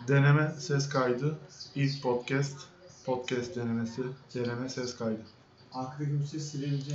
Deneme ses kaydı. İlk podcast. Podcast denemesi. Deneme ses kaydı. Arkadaki bu ses silebileceğim.